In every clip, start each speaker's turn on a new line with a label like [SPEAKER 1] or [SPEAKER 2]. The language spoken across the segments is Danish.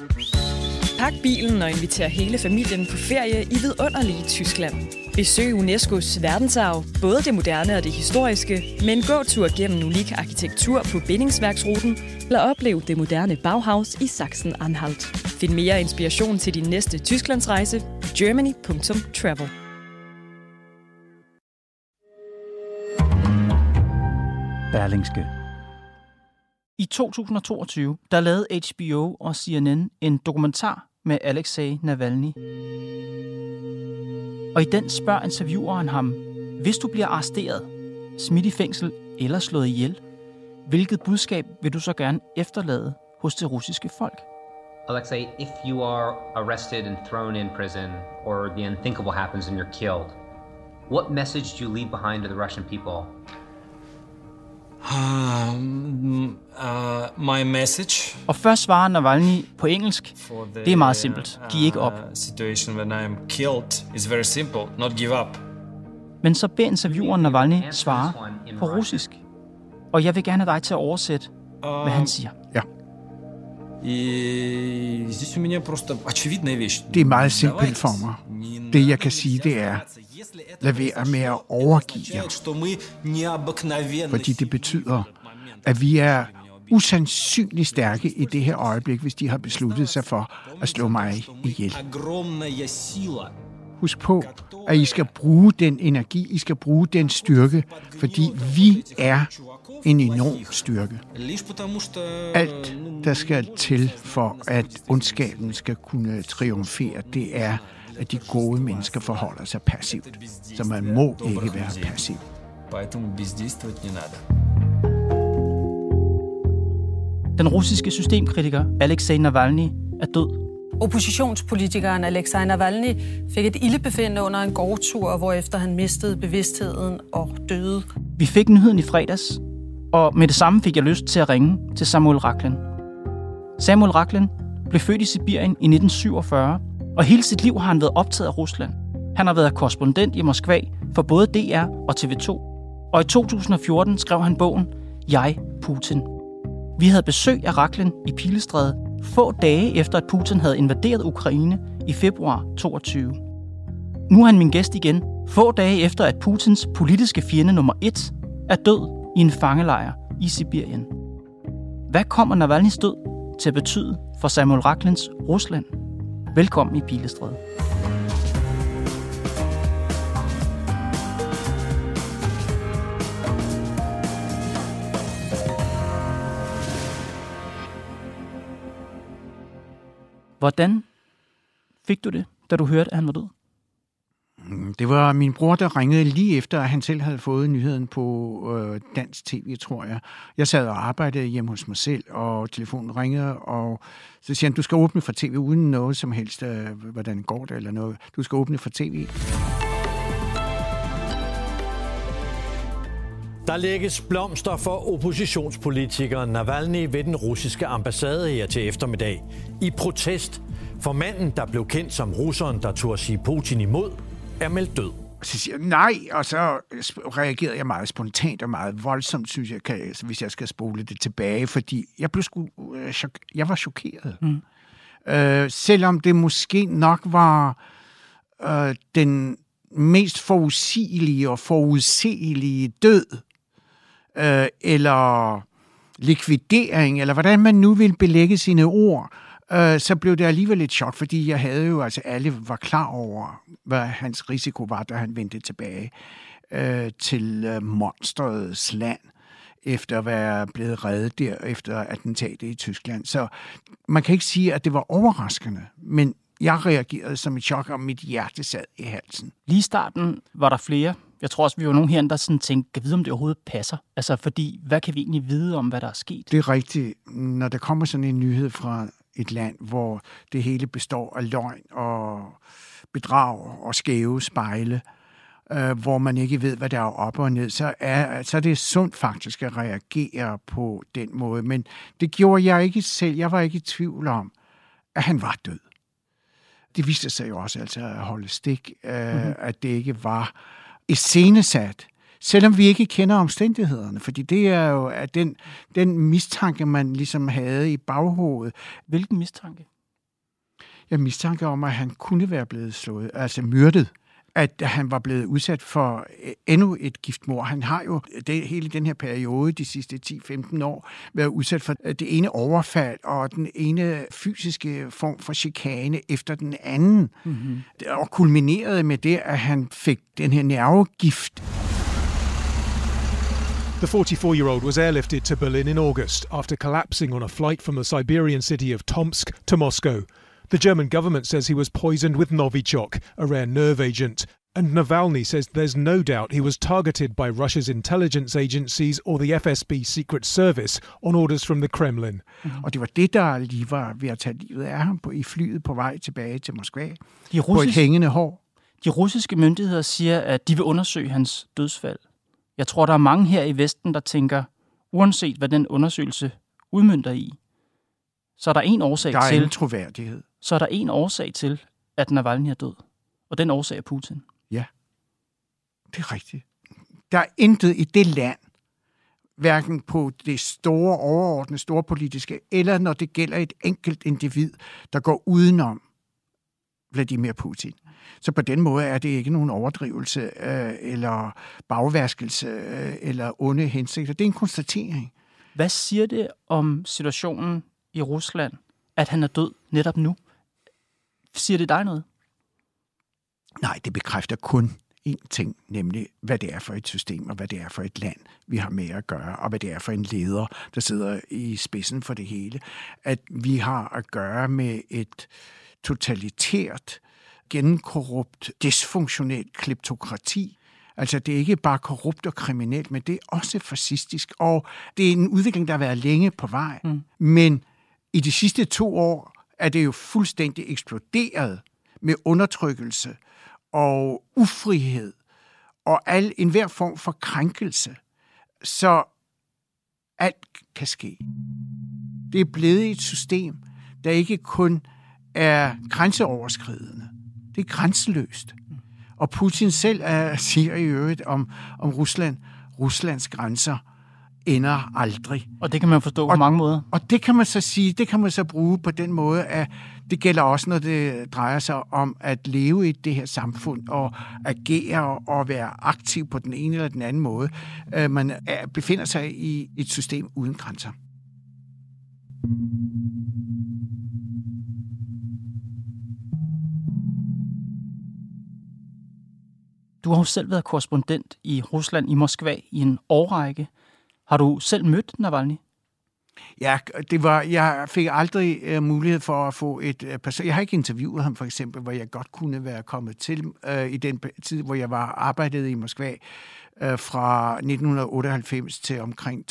[SPEAKER 1] Pak bilen og inviter hele familien på ferie i vidunderlige Tyskland. Besøg UNESCO's verdensarv, både det moderne og det historiske, med en gåtur gennem unik arkitektur på bindingsværksruten, eller oplev det moderne Bauhaus i Sachsen-Anhalt. Find mere inspiration til din næste Tysklandsrejse på germany.travel.
[SPEAKER 2] Berlingske. I 2022, der lavede HBO og CNN en dokumentar med Alexei Navalny. Og i den spørger intervieweren ham, hvis du bliver arresteret, smidt i fængsel eller slået ihjel, hvilket budskab vil du så gerne efterlade hos det russiske folk?
[SPEAKER 3] Alexei, if you are arrested and thrown in prison, or the unthinkable happens and you're killed, what message do you leave behind to the Russian people?
[SPEAKER 4] My message.
[SPEAKER 2] Og først svarer Navalny på engelsk. Det er meget simpelt. Giv ikke op.
[SPEAKER 4] Situation when I am killed is very simple. Not give up.
[SPEAKER 2] Men så beder intervieweren Navalny svare på russisk. Og jeg vil gerne have dig til at oversætte, hvad han siger.
[SPEAKER 5] Ja. Det er meget simpelt for mig. Det jeg kan sige, det er, lad være med at overgive jer. Fordi det betyder, at vi er usandsynligt stærke i det her øjeblik, hvis de har besluttet sig for at slå mig ihjel. Husk på, at I skal bruge den energi, I skal bruge den styrke, fordi vi er en enorm styrke. Alt, der skal til for, at ondskaben skal kunne triumfere, det er, at de gode mennesker forholder sig passivt. Så man må ikke være passiv.
[SPEAKER 2] Den russiske systemkritiker Alexei Navalny er død.
[SPEAKER 6] Oppositionspolitikeren Alexei Navalny fik et ildebefindende under en gårdtur, hvorefter han mistede bevidstheden og døde.
[SPEAKER 2] Vi fik nyheden i fredags, og med det samme fik jeg lyst til at ringe til Samuel Rakhlen. Samuel Rakhlen blev født i Sibirien i 1947, og hele sit liv har han været optaget af Rusland. Han har været korrespondent i Moskva for både DR og TV2. Og i 2014 skrev han bogen Jeg, Putin. Vi havde besøg af Rakhlen i Pilestræde få dage efter, at Putin havde invaderet Ukraine i februar 22. Nu er han min gæst igen, få dage efter, at Putins politiske fjende nummer 1 er død i en fangelejr i Sibirien. Hvad kommer Navalnys død til at betyde for Samuel Rakhlens Rusland? Velkommen i Pilestræde. Hvordan fik du det, da du hørte, at han var død?
[SPEAKER 5] Det var min bror, der ringede lige efter, at han selv havde fået nyheden på dansk tv, tror jeg. Jeg sad og arbejdede hjemme hos mig selv, og telefonen ringede, og så siger han, du skal åbne for tv uden noget som helst, hvordan går det eller noget. Du skal åbne for tv.
[SPEAKER 7] Der lægges blomster for oppositionspolitikeren Navalny ved den russiske ambassade her til eftermiddag. I protest for manden, der blev kendt som russeren, der turde sige Putin imod, er meldt død.
[SPEAKER 5] Så siger jeg nej, og så reagerede jeg meget spontant og meget voldsomt, synes jeg, hvis jeg skal spole det tilbage, fordi jeg var chokeret. Selvom det måske nok var den mest forudsigelige og forudselige død, eller likvidering, eller hvordan man nu vil belægge sine ord, så blev det alligevel et chok, fordi jeg havde jo, altså alle var klar over, hvad hans risiko var, da han vendte tilbage til monsterets land, efter at være blevet reddet der efter attentatet i Tyskland. Så man kan ikke sige, at det var overraskende, men jeg reagerede som et chok, og mit hjerte sad i halsen.
[SPEAKER 2] Lige i starten var der flere. Jeg tror også, vi var nogen herinde, der sådan tænkte, kan vide, om det overhovedet passer? Altså, fordi, hvad kan vi egentlig vide om, hvad der er sket?
[SPEAKER 5] Det er rigtigt. Når der kommer sådan en nyhed fra et land, hvor det hele består af løgn og bedrag og skæve spejle, hvor man ikke ved, hvad der er op og ned, så er det sundt faktisk at reagere på den måde. Men det gjorde jeg ikke selv. Jeg var ikke i tvivl om, at han var død. Det viste sig jo også altså at holde stik, at det ikke var iscenesat, selvom vi ikke kender omstændighederne, fordi det er jo at den mistanke, man ligesom havde i baghovedet.
[SPEAKER 2] Hvilken mistanke?
[SPEAKER 5] mistanke om, at han kunne være blevet slået, altså myrdet. At han var blevet udsat for endnu et giftmord. Han har jo hele den her periode, de sidste 10-15 år, været udsat for det ene overfald og den ene fysiske form for chikane efter den anden. Mm-hmm. Og kulminerede med det, at han fik den her nervegift.
[SPEAKER 8] The 44-year-old was airlifted to Berlin in August after collapsing on a flight from the Siberian city of Tomsk to Moscow. The German government says he was poisoned with Novichok, a rare nerve agent, and Navalny says there's no doubt he was targeted by Russia's intelligence agencies or the FSB Secret Service on orders from the Kremlin.
[SPEAKER 5] Og det var det, der lige var ved at tage livet af ham i flyet på vej tilbage til Moskva på et hængende hår.
[SPEAKER 2] De russiske myndigheder siger, at de vil undersøge hans dødsfald. Jeg tror, der er mange her i Vesten, der tænker, uanset hvad den undersøgelse udmønter i, så er der en årsag til...
[SPEAKER 5] Der er ingen troværdighed.
[SPEAKER 2] Så er der en årsag til, at Navalny er død. Og den årsag er Putin.
[SPEAKER 5] Ja, det er rigtigt. Der er intet i det land, hverken på det store, overordnede, store politiske, eller når det gælder et enkelt individ, der går udenom Vladimir Putin. Så på den måde er det ikke nogen overdrivelse eller bagvaskelse eller onde hensigter. Det er en konstatering.
[SPEAKER 2] Hvad siger det om situationen i Rusland, at han er død netop nu? Siger det dig noget?
[SPEAKER 5] Nej, det bekræfter kun én ting, nemlig hvad det er for et system, og hvad det er for et land, vi har med at gøre, og hvad det er for en leder, der sidder i spidsen for det hele. At vi har at gøre med et totalitært, gennemkorrupt, dysfunktionelt kleptokrati. Altså, det er ikke bare korrupt og kriminelt, men det er også fascistisk, og det er en udvikling, der har været længe på vej. Men i de sidste 2 år er det jo fuldstændig eksploderet med undertrykkelse og ufrihed og enhver form for krænkelse. Så alt kan ske. Det er blevet et system, der ikke kun er grænseoverskridende. Det er grænseløst. Og Putin selv siger i øvrigt om Rusland, Ruslands grænser ender aldrig.
[SPEAKER 2] Og det kan man forstå på mange måder.
[SPEAKER 5] Og det kan man så sige, det kan man så bruge på den måde, at det gælder også, når det drejer sig om at leve i det her samfund og agere og være aktiv på den ene eller den anden måde. Man befinder sig i et system uden grænser.
[SPEAKER 2] Du har jo selv været korrespondent i Rusland, i Moskva, i en årrække. Har du selv mødt Navalny?
[SPEAKER 5] Ja, jeg fik aldrig mulighed for at få et person. Jeg har ikke interviewet ham, for eksempel, hvor jeg godt kunne være kommet til i den tid, hvor jeg arbejdede i Moskva fra 1998 til omkring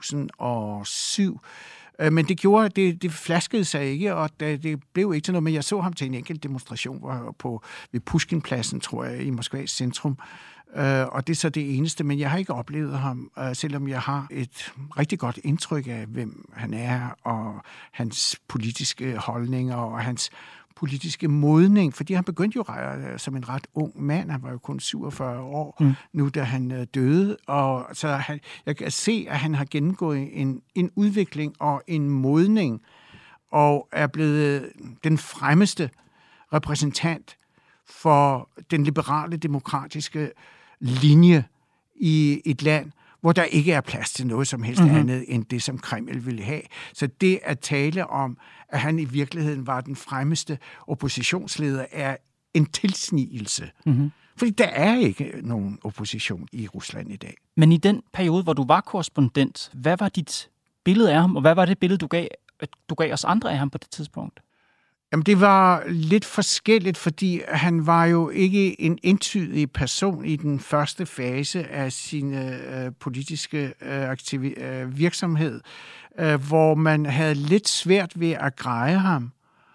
[SPEAKER 5] 2007. Men det gjorde, det flaskede sig ikke, og det blev ikke til noget, men jeg så ham til en enkelt demonstration ved Pushkinpladsen, tror jeg, i Moskvas centrum. Og det er så det eneste, men jeg har ikke oplevet ham, selvom jeg har et rigtig godt indtryk af, hvem han er, og hans politiske holdninger, og hans politiske modning, fordi han begyndte jo som en ret ung mand, han var jo kun 47 år nu, da han døde, og så jeg kan se, at han har gennemgået en udvikling og en modning, og er blevet den fremmeste repræsentant for den liberale, demokratiske linje i et land, hvor der ikke er plads til noget som helst andet end det, som Kreml ville have. Så det at tale om, at han i virkeligheden var den fremmeste oppositionsleder, er en tilsnigelse. Fordi der er ikke nogen opposition i Rusland i dag.
[SPEAKER 2] Men i den periode, hvor du var korrespondent, hvad var dit billede af ham, og hvad var det billede, du gav os andre af ham på det tidspunkt?
[SPEAKER 5] Jamen, det var lidt forskelligt, fordi han var jo ikke en entydig person i den første fase af sin politiske virksomhed, hvor man havde lidt svært ved at greje ham,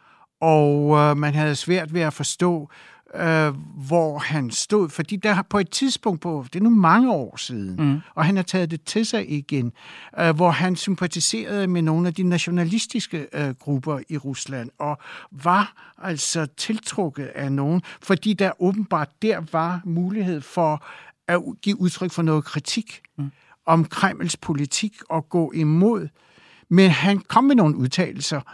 [SPEAKER 5] og man havde svært ved at forstå, hvor han stod, fordi der på et tidspunkt det er nu mange år siden, og han har taget det til sig igen, hvor han sympatiserede med nogle af de nationalistiske grupper i Rusland, og var altså tiltrukket af nogen, fordi der åbenbart der var mulighed for at give udtryk for noget kritik om Kremls politik og gå imod. Men han kom med nogle udtalelser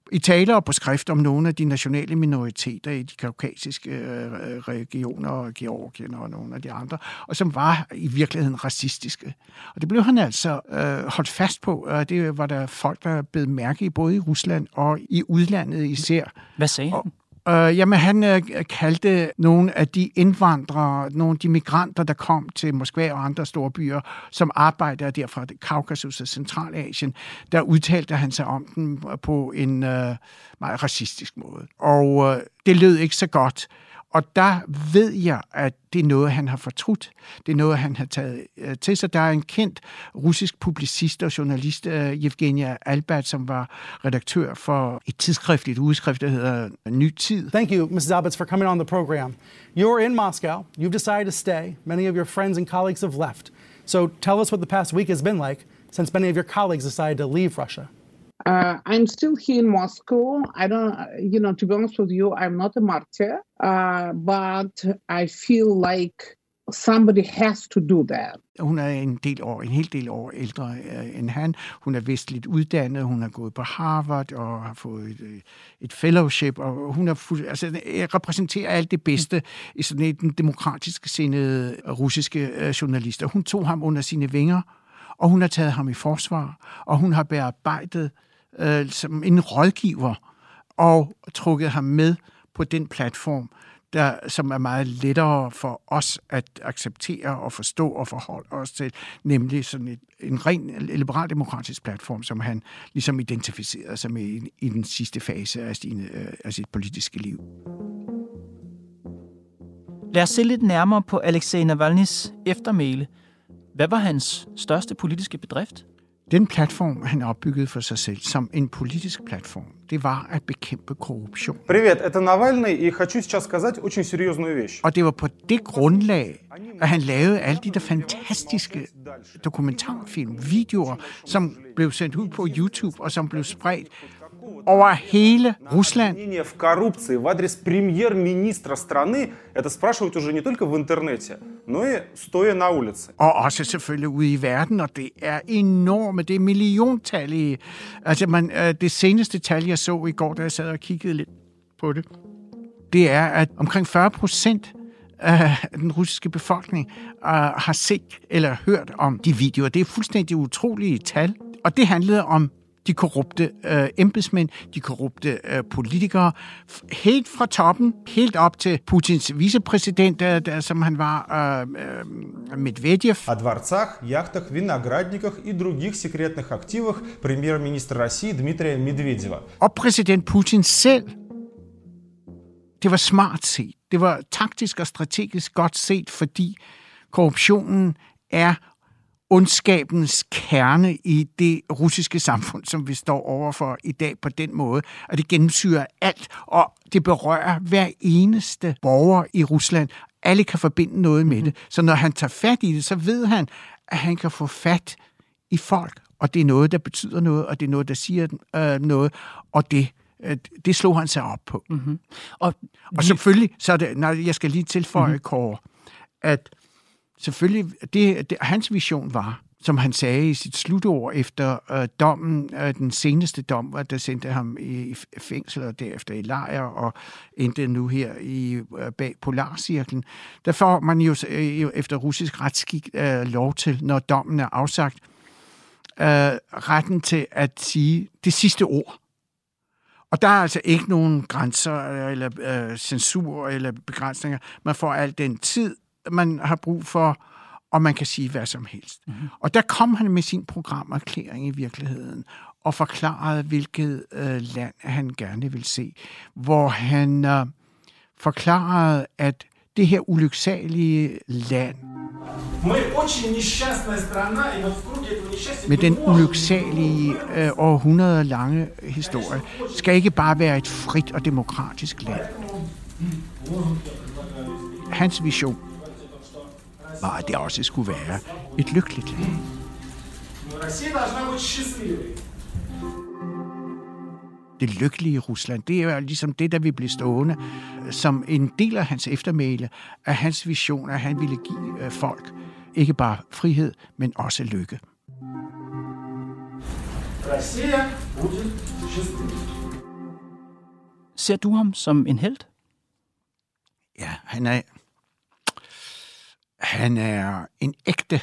[SPEAKER 5] i taler og på skrift om nogle af de nationale minoriteter i de kaukasiske regioner, og Georgien og nogle af de andre, og som var i virkeligheden racistiske. Og det blev han altså holdt fast på, og det var der folk, der blev mærke i, både i Rusland og i udlandet især.
[SPEAKER 2] Hvad sagde han?
[SPEAKER 5] Jamen, han kaldte nogle af de indvandrere, nogle af de migranter, der kom til Moskva og andre store byer, som arbejder der fra Kaukasus og Centralasien, der udtalte han sig om dem på en meget racistisk måde. Og det lød ikke så godt. Og der ved jeg, at det er noget, han har fortrudt. Det er noget, han har taget til sig. Der er en kendt russisk publicist og journalist, Evgenia Albat, som var redaktør for et tidsskrift, et udskrift, der hedder Ny Tid.
[SPEAKER 9] Thank you, Mrs. Albat, for coming on the program. You're in Moscow. You've decided to stay. Many of your friends and colleagues have left. So tell us what the past week has been like since many of your colleagues decided to leave Russia.
[SPEAKER 10] I'm still here in Moscow. I don't, to be honest with you, I'm not a martyr, but I feel like somebody has to do that.
[SPEAKER 5] Hun er en hel del år ældre end han. Hun er vestligt uddannet, hun har gået på Harvard og har fået et fellowship, og hun repræsenterer alt det bedste i sådan en demokratisk sindede russiske journalister. Hun tog ham under sine vinger, og hun har taget ham i forsvar, og hun har bearbejdet som en rådgiver og trukket ham med på den platform, som er meget lettere for os at acceptere og forstå og forholde os til, nemlig sådan en ren liberal-demokratisk platform, som han ligesom identificerede sig med i den sidste fase af sit politiske liv.
[SPEAKER 2] Lad os se lidt nærmere på Alexei Navalnyjs eftermæle. Hvad var hans største politiske bedrift?
[SPEAKER 5] Den platform, han opbyggede for sig selv som en politisk platform, det var at bekæmpe korruption.
[SPEAKER 11] Привет, это Навальный, и хочу сейчас сказать очень серьезную вещь.
[SPEAKER 5] Og det var på det grundlag, at han lavede alle de der fantastiske dokumentarfilm, videoer, som blev sendt ud på YouTube og som blev spredt over hele Rusland.
[SPEAKER 11] В коррупции в адрес премьер-министра страны это спрашивают уже не только в интернете, но и стоя на улице.
[SPEAKER 5] Og også selvfølgelig ude i verden, og det er enorme, det er milliontallige. Altså det seneste tal, jeg så i går, da jeg sad og kiggede lidt på det, det er, at omkring 40% af den russiske befolkning har set eller hørt om de videoer. Det er fuldstændig utrolige tal, og det handlede om de korrupte embedsmænd, de korrupte politikere, helt fra toppen, helt op til Putins vicepræsident, som han var, Medvedev.
[SPEAKER 11] О дворцах, яхтах, виноградниках и других секретных активах премьер-министра России Дмитрия Медведева.
[SPEAKER 5] Og præsident Putin selv. Det var smart set. Det var taktisk og strategisk godt set, fordi korruptionen er ondskabens kerne i det russiske samfund, som vi står overfor i dag på den måde, at det gennemsyrer alt, og det berører hver eneste borger i Rusland. Alle kan forbinde noget med det. Så når han tager fat i det, så ved han, at han kan få fat i folk, og det er noget, der betyder noget, og det er noget, der siger noget, og det slog han sig op på. Mm-hmm. Og selvfølgelig, så er det, jeg skal lige tilføje, Kåre, at selvfølgelig, hans vision var, som han sagde i sit slutord efter dommen, den seneste dom, der sendte ham i fængsel og derefter i lejr og endte nu her bag Polarcirklen. Der får man jo efter russisk retskik lov til, når dommen er afsagt, retten til at sige det sidste ord. Og der er altså ikke nogen grænser eller censur eller begrænsninger. Man får al den tid, man har brug for, og man kan sige hvad som helst. Mm-hmm. Og der kom han med sin programerklæring i virkeligheden, og forklarede, hvilket land han gerne vil se. Hvor han forklarede, at det her ulyksalige land, med den ulyksalige århundreder lange historie, skal ikke bare være et frit og demokratisk land. Hans vision var, at det også skulle være et lykkeligt land. Det lykkelige Rusland, det er jo ligesom det, der vil blive stående som en del af hans eftermæle, af hans vision, at han ville give folk ikke bare frihed, men også lykke.
[SPEAKER 2] Ser du ham som en helt?
[SPEAKER 5] Ja, han er en ægte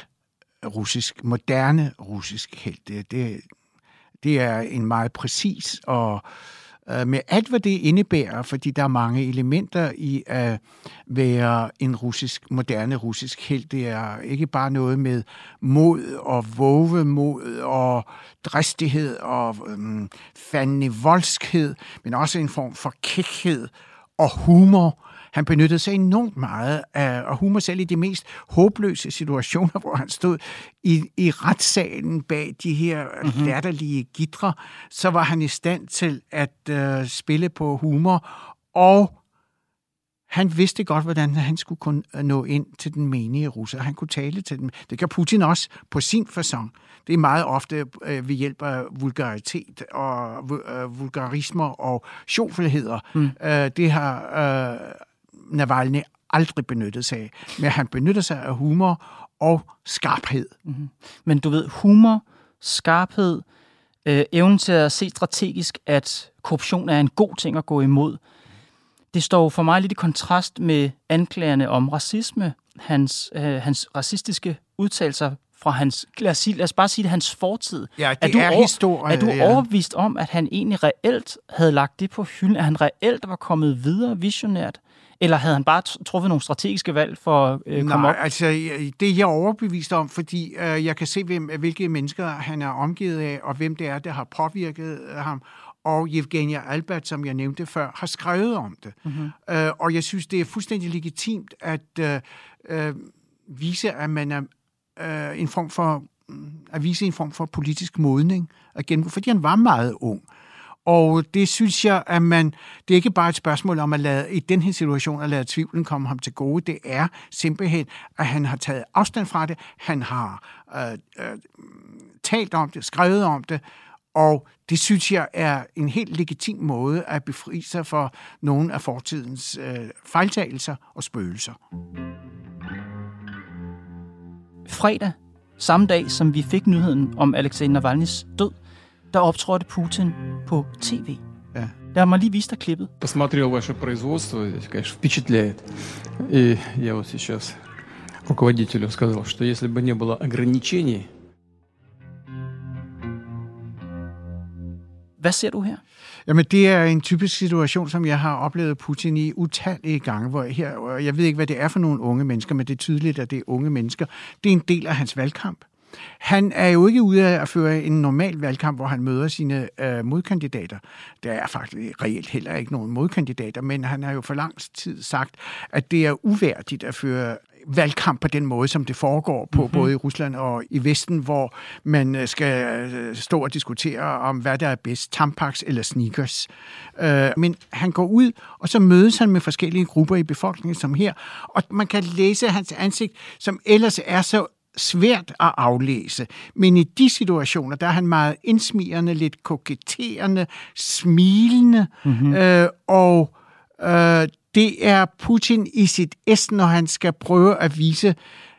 [SPEAKER 5] moderne russisk helt. Det er en meget præcis og med alt, hvad det indebærer, fordi der er mange elementer i at være en moderne russisk helt. Det er ikke bare noget med mod og vovemod og dristighed og fandenivoldskhed, men også en form for kækhed og humor. Han benyttede sig enormt meget af humor, selv i de mest håbløse situationer, hvor han stod i retssalen bag de her latterlige gitre, så var han i stand til at spille på humor, og han vidste godt, hvordan han skulle kunne nå ind til den menige russer. Han kunne tale til dem. Det kan Putin også på sin facon. Det er meget ofte ved hjælp af vulgaritet og vulgarismer og sjovfelheder. Det har Navalny aldrig benyttet sig af. Men han benytter sig af humor og skarphed.
[SPEAKER 2] Mm-hmm. Men du ved, humor, skarphed, evnen til at se strategisk, at korruption er en god ting at gå imod. Det står for mig lidt i kontrast med anklagerne om racisme, hans racistiske udtalelser fra hans, lad os bare sige det, hans fortid.
[SPEAKER 5] Ja, det er historie.
[SPEAKER 2] Er du overbevist om, at han egentlig reelt havde lagt det på hylden? At han reelt var kommet videre visionært? Eller havde han bare truffet nogle strategiske valg for at komme op?
[SPEAKER 5] Nej, altså det er jeg overbevist om, fordi jeg kan se, hvilke mennesker han er omgivet af, og hvem det er, der har påvirket ham. Og Evgenia Albert, som jeg nævnte før, har skrevet om det. Mm-hmm. Og jeg synes, det er fuldstændig legitimt at vise, at man er en form for politisk modning, fordi han var meget ung. Og det synes jeg, at det er ikke bare et spørgsmål om i den her situation at lade tvivlen komme ham til gode. Det er simpelthen, at han har taget afstand fra det. Han har talt om det, skrevet om det, og det synes jeg er en helt legitim måde at befri sig for nogle af fortidens fejltagelser og spøgelser.
[SPEAKER 2] Fredag, samme dag som vi fik nyheden om Alexei Navalnys død, der optrådte Putin på tv.
[SPEAKER 5] Ja.
[SPEAKER 2] Lad mig lige vise dig klippet.
[SPEAKER 12] Посмотрел ваше производство, это, конечно, впечатляет. И я вот сейчас руководителю сказал, что если бы не было ограничений.
[SPEAKER 2] Hvad ser du her?
[SPEAKER 5] Jamen, det er en typisk situation, som jeg har oplevet Putin i utallige gange, hvor jeg ved ikke, hvad det er for nogle unge mennesker, men det er tydeligt, at det er unge mennesker. Det er en del af hans valgkamp. Han er jo ikke ude af at føre en normal valgkamp, hvor han møder sine modkandidater. Der er faktisk reelt heller ikke nogen modkandidater, men han har jo for lang tid sagt, at det er uværdigt at føre valgkamp på den måde, som det foregår på både i Rusland og i Vesten, hvor man skal stå og diskutere om, hvad der er bedst, Tampax eller sneakers. Men han går ud, og så mødes han med forskellige grupper i befolkningen, som her, og man kan læse hans ansigt, som ellers er så svært at aflæse. Men i de situationer, der er han meget indsmirrende, lidt koketterende, smilende, og det er Putin i sit es, når han skal prøve at vise,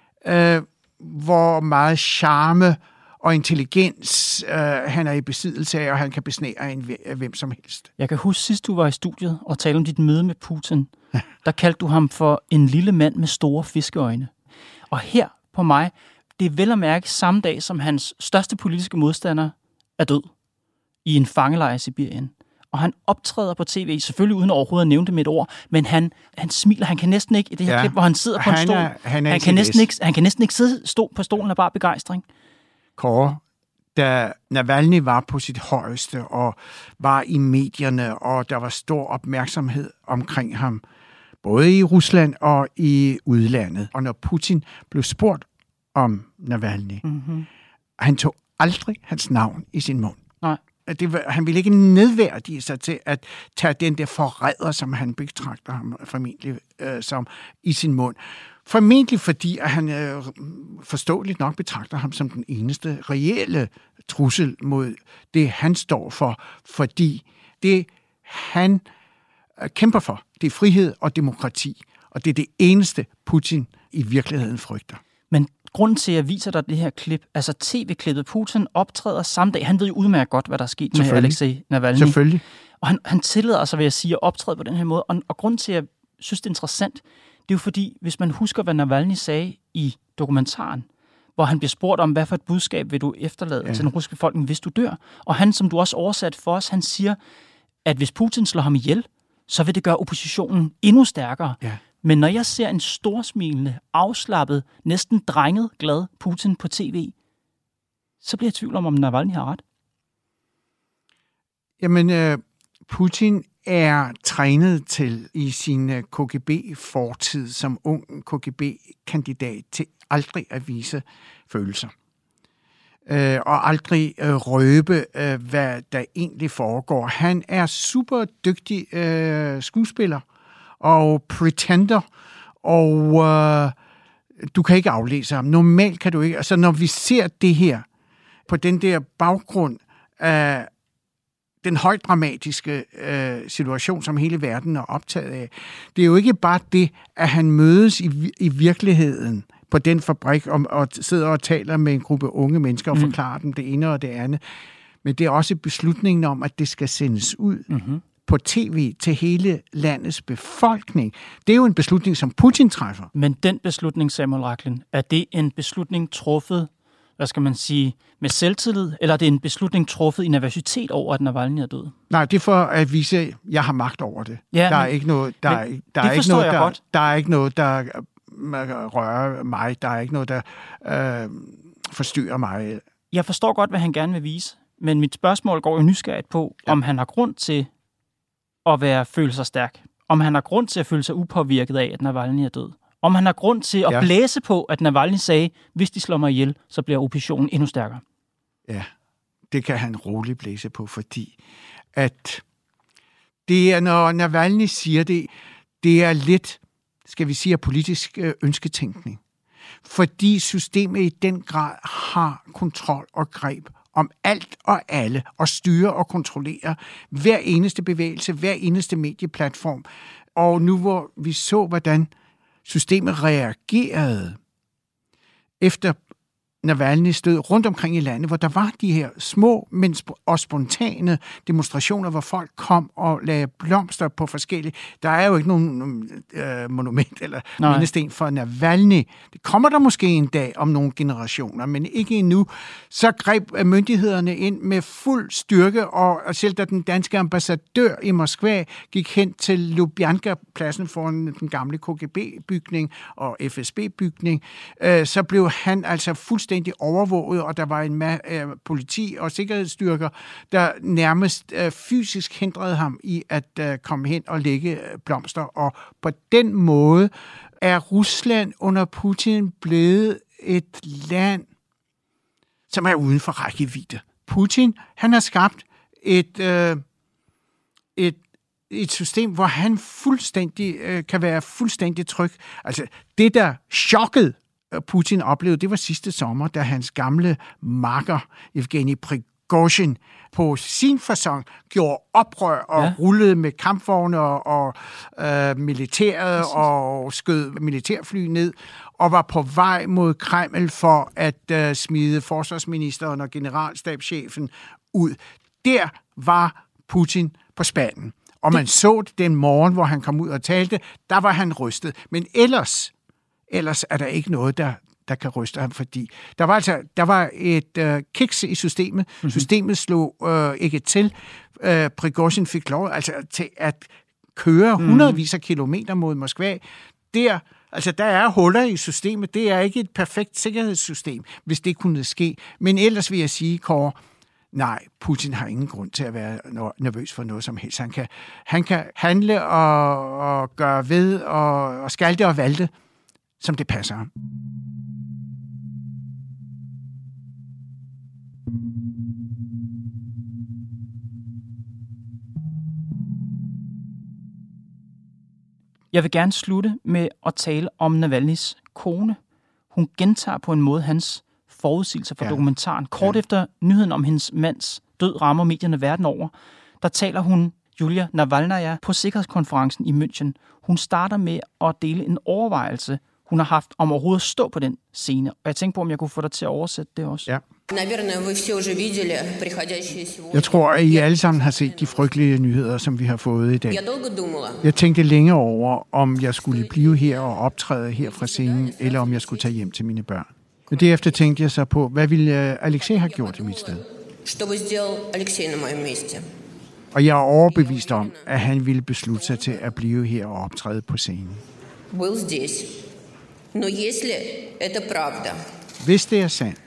[SPEAKER 5] hvor meget charme og intelligens han er i besiddelse af, og han kan besnære hvem som helst.
[SPEAKER 2] Jeg kan huske, sidst du var i studiet og talte om dit møde med Putin, der kaldte du ham for en lille mand med store fiskeøjne. Og her på mig, det er vel at mærke samme dag, som hans største politiske modstander er død i en fangelejr i Sibirien. Og han optræder på tv, selvfølgelig uden overhovedet at nævne det med et ord, men han smiler, han kan næsten ikke, i det her klip, hvor han sidder på en stol, han kan næsten ikke stå på stolen af bare begejstring.
[SPEAKER 5] Kåre, da Navalny var på sit højeste og var i medierne, og der var stor opmærksomhed omkring ham, både i Rusland og i udlandet. Og når Putin blev spurgt om Navalny, han tog aldrig hans navn i sin mund.
[SPEAKER 2] Nej.
[SPEAKER 5] Han ville ikke nedværdige sig til at tage den der forræder, som han betragter ham formentlig som, i sin mund. Formentlig fordi, at han forståeligt nok betragter ham som den eneste reelle trussel mod det, han står for. Fordi det, han kæmper for, det er frihed og demokrati. Og det er det eneste, Putin i virkeligheden frygter.
[SPEAKER 2] Men grunden til, at jeg viser dig det her klip, altså tv-klippet, Putin optræder samme dag. Han ved jo udmærket godt, hvad der er sket med Alexei Navalny.
[SPEAKER 5] Selvfølgelig.
[SPEAKER 2] Og han tillader sig, vil jeg sige, at optræde på den her måde. Og grunden til, at jeg synes, det er interessant, det er jo fordi, hvis man husker, hvad Navalny sagde i dokumentaren, hvor han bliver spurgt om, hvad for et budskab vil du efterlade til den russiske befolkning, hvis du dør. Og han, som du også oversat for os, han siger, at hvis Putin slår ham ihjel, så vil det gøre oppositionen endnu stærkere. Ja. Men når jeg ser en storsmilende, afslappet, næsten drenget glad Putin på tv, så bliver jeg i tvivl om Navalny har ret.
[SPEAKER 5] Jamen, Putin er trænet til i sin KGB-fortid som ung KGB-kandidat til aldrig at vise følelser. Og aldrig røbe, hvad der egentlig foregår. Han er super dygtig skuespiller og pretender, og du kan ikke aflæse ham. Normalt kan du ikke. Altså, når vi ser det her på den der baggrund af den højt dramatiske situation, som hele verden er optaget af, det er jo ikke bare det, at han mødes i virkeligheden på den fabrik og sidder og taler med en gruppe unge mennesker og forklarer dem det ene og det andet. Men det er også beslutningen om, at det skal sendes ud på tv til hele landets befolkning. Det er jo en beslutning, som Putin træffer.
[SPEAKER 2] Men den beslutning, Samuel Rachlin, er det en beslutning truffet, hvad skal man sige, med selvtillid, eller er det en beslutning truffet i nervøsitet over, at Navalny er død?
[SPEAKER 5] Nej, det er for at vise, at jeg har magt over det. Ja, der er ikke noget, der er ikke noget, der rører mig. Der er ikke noget, der forstyrrer mig.
[SPEAKER 2] Jeg forstår godt, hvad han gerne vil vise, men mit spørgsmål går jo nysgerrigt på, om han har grund til at føle sig stærk. Om han har grund til at føle sig upåvirket af, at Navalny er død. Om han har grund til at blæse på, at Navalny sagde, hvis de slår mig ihjel, så bliver oppositionen endnu stærkere.
[SPEAKER 5] Ja, det kan han roligt blæse på, fordi at det er, når Navalny siger det, det er lidt, skal vi sige, politisk ønsketænkning. Fordi systemet i den grad har kontrol og greb om alt og alle, og styre og kontrollere hver eneste bevægelse, hver eneste medieplatform. Og nu hvor vi så, hvordan systemet reagerede efter Navalnys død rundt omkring i landet, hvor der var de her små og spontane demonstrationer, hvor folk kom og lagde blomster på forskellige. Der er jo ikke nogen monument eller mindesten for Navalny. Det kommer der måske en dag om nogle generationer, men ikke endnu. Så greb myndighederne ind med fuld styrke, og selv da den danske ambassadør i Moskva gik hen til Lubjanka-pladsen foran den gamle KGB-bygning og FSB-bygning, så blev han altså fuldstændig overvåget, og der var en politi og sikkerhedsstyrker, der nærmest fysisk hindrede ham i at komme hen og lægge blomster. Og på den måde er Rusland under Putin blevet et land, som er uden for rækkevidde. Putin, han har skabt et system, hvor han fuldstændig kan være fuldstændig tryg. Altså, det der chokkede Putin oplevede, det var sidste sommer, da hans gamle makker, Evgeni Prigozhin, på sin facon gjorde oprør og rullede med kampvogne og militæret og skød militærfly ned og var på vej mod Kreml for at smide forsvarsministeren og generalstabschefen ud. Der var Putin på spanden. Og man så det den morgen, hvor han kom ud og talte, der var han rystet. Men ellers er der ikke noget, der kan ryste ham, fordi der var et kiks i systemet. Mm-hmm. Systemet slog ikke til. Prigozhin fik lov til at køre hundredvis af kilometer mod Moskva. Der er huller i systemet. Det er ikke et perfekt sikkerhedssystem, hvis det kunne ske. Men ellers vil jeg sige, Kåre, nej, Putin har ingen grund til at være nervøs for noget som helst. Han kan handle og gøre ved og skalte og valte, som det passer ham.
[SPEAKER 2] Jeg vil gerne slutte med at tale om Navalnys kone. Hun gentager på en måde hans forudsigelser for dokumentaren. Kort efter nyheden om hendes mands død rammer medierne verden over, der taler hun, Julia Navalnaya, på sikkerhedskonferencen i München. Hun starter med at dele en overvejelse, hun har haft om overhovedet at stå på den scene. Og jeg tænkte på, om jeg kunne få dig til at oversætte det også.
[SPEAKER 5] Ja. Jeg tror, at I alle sammen har set de frygtelige nyheder, som vi har fået i dag. Jeg tænkte længe over, om jeg skulle blive her og optræde her fra scenen, eller om jeg skulle tage hjem til mine børn. Men derefter tænkte jeg så på, hvad ville Alexei have gjort i mit sted? Og jeg er overbevist om, at han ville beslutte sig til at blive her og optræde på scenen. Hvis det er sandt,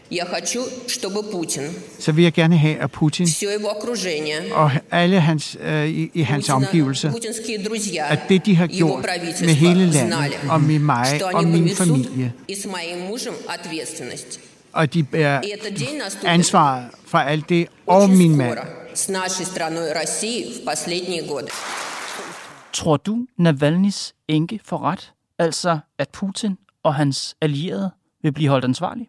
[SPEAKER 5] så vil jeg gerne have, at Putin og alle i hans omgivelser, at det, de har gjort med hele landet og med mig og min familie, og de bærer ansvaret for alt det og min mand.
[SPEAKER 2] Tror du, Navalnys enke får ret? Altså, at Putin og hans allierede vil blive holdt ansvarlige?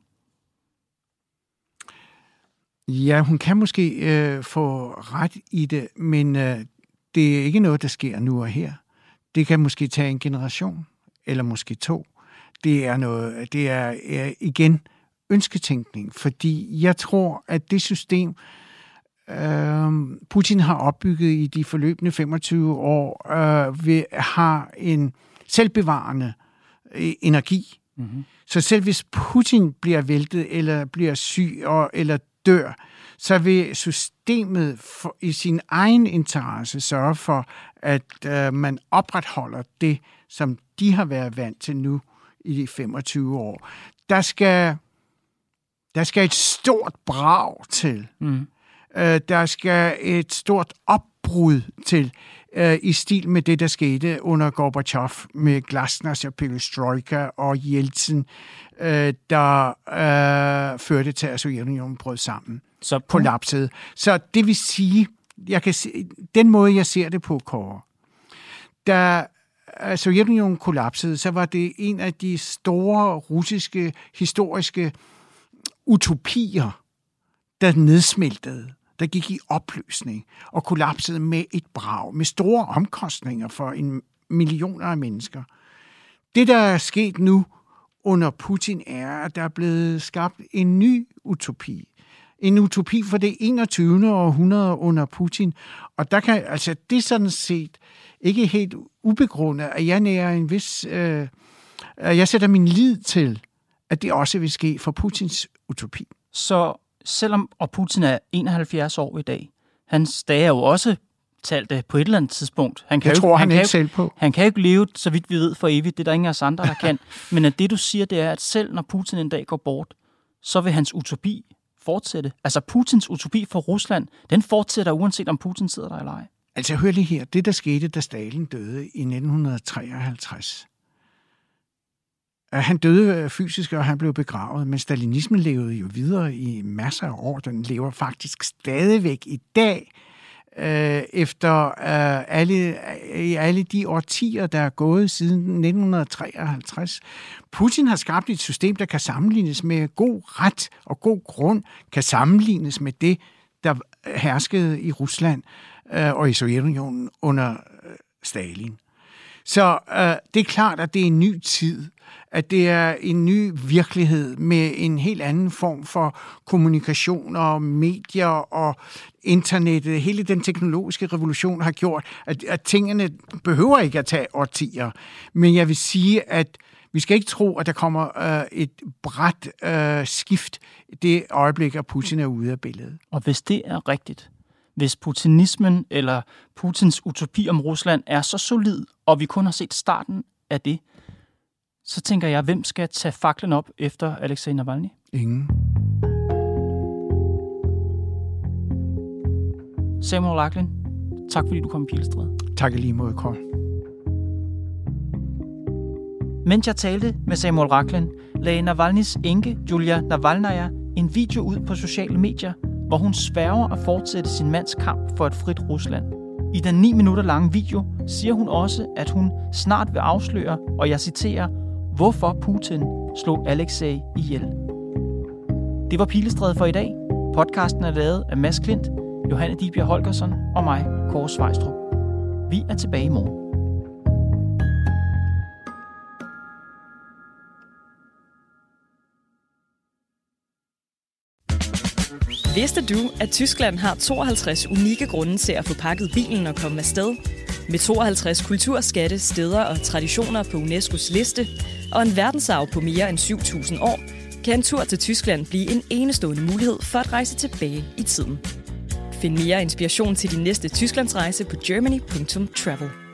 [SPEAKER 5] Ja, hun kan måske få ret i det, men det er ikke noget, der sker nu og her. Det kan måske tage en generation, eller måske 2. Det er igen ønsketænkning, fordi jeg tror, at det system, Putin har opbygget i de forløbende 25 år, har en selvbevarende energi. Mm-hmm. Så selv hvis Putin bliver væltet, eller bliver syg, eller dør, så vil systemet i sin egen interesse sørge for, at man opretholder det, som de har været vant til nu i de 25 år. Der skal et stort brag til. Mm. Der skal et stort opbrud til, i stil med det, der skete under Gorbachev med glasnost og perestrojka og Jeltsin, der førte til, at Sovjetunionen brød sammen.
[SPEAKER 2] Så
[SPEAKER 5] kollapsede. Så det vil sige, den måde, jeg ser det på, Kåre, da Sovjetunionen kollapsede, så var det en af de store russiske historiske utopier, der nedsmeltede, der gik i opløsning og kollapsede med et brag, med store omkostninger for millioner af mennesker. Det, der er sket nu under Putin, er, at der er blevet skabt en ny utopi. En utopi for det 21. århundrede under Putin. Og der kan, altså, det er sådan set ikke helt ubegrundet, at jeg nærer en vis... jeg sætter min lid til, at det også vil ske for Putins utopi.
[SPEAKER 2] Så selvom Putin er 71 år i dag, hans dage er jo også talte på et eller andet tidspunkt. Han kan jo ikke leve, så vidt vi ved, for evigt. Det er der ingen af os andre, der kan. Men at det, du siger, det er, at selv når Putin en dag går bort, så vil hans utopi fortsætte. Altså Putins utopi for Rusland, den fortsætter uanset om Putin sidder der eller ej.
[SPEAKER 5] Altså hør lige her. Det, der skete, da Stalin døde i 1953. Han døde fysisk, og han blev begravet, men stalinismen levede jo videre i masser af år. Den lever faktisk stadigvæk i dag, efter alle de årtier, der er gået siden 1953. Putin har skabt et system, der kan sammenlignes med god ret og god grund, kan sammenlignes med det, der herskede i Rusland og i Sovjetunionen under Stalin. Så det er klart, at det er en ny tid, at det er en ny virkelighed med en helt anden form for kommunikation og medier og internettet. Hele den teknologiske revolution har gjort, at tingene behøver ikke at tage årtier. Men jeg vil sige, at vi skal ikke tro, at der kommer et brat skift det øjeblik, at Putin er ude af billedet.
[SPEAKER 2] Og hvis det er rigtigt, hvis putinismen eller Putins utopi om Rusland er så solid, og vi kun har set starten af det, så tænker jeg, hvem skal tage faklen op efter Alexei Navalny?
[SPEAKER 5] Ingen.
[SPEAKER 2] Samuel Rachlin, tak fordi du kom i Pilestræde.
[SPEAKER 5] Tak i lige måde, Kåre.
[SPEAKER 2] Mens jeg talte med Samuel Rachlin, lagde Navalnys enke, Julia Navalnaya, en video ud på sociale medier, hvor hun sværger at fortsætte sin mands kamp for et frit Rusland. I den 9 minutter lange video siger hun også, at hun snart vil afsløre, og jeg citerer, hvorfor Putin slog Alexei ihjel. Det var Pilestræde for i dag. Podcasten er lavet af Mads Klint, Johanne Dibjerg Holgersen og mig, Kåre Svejstrup. Vi er tilbage i morgen.
[SPEAKER 1] Vidste du, at Tyskland har 52 unikke grunde til at få pakket bilen og komme afsted? Med 52 kulturskatte, steder og traditioner på UNESCO's liste, og en verdensarv på mere end 7.000 år, kan en tur til Tyskland blive en enestående mulighed for at rejse tilbage i tiden. Find mere inspiration til din næste Tysklandsrejse på germany.travel.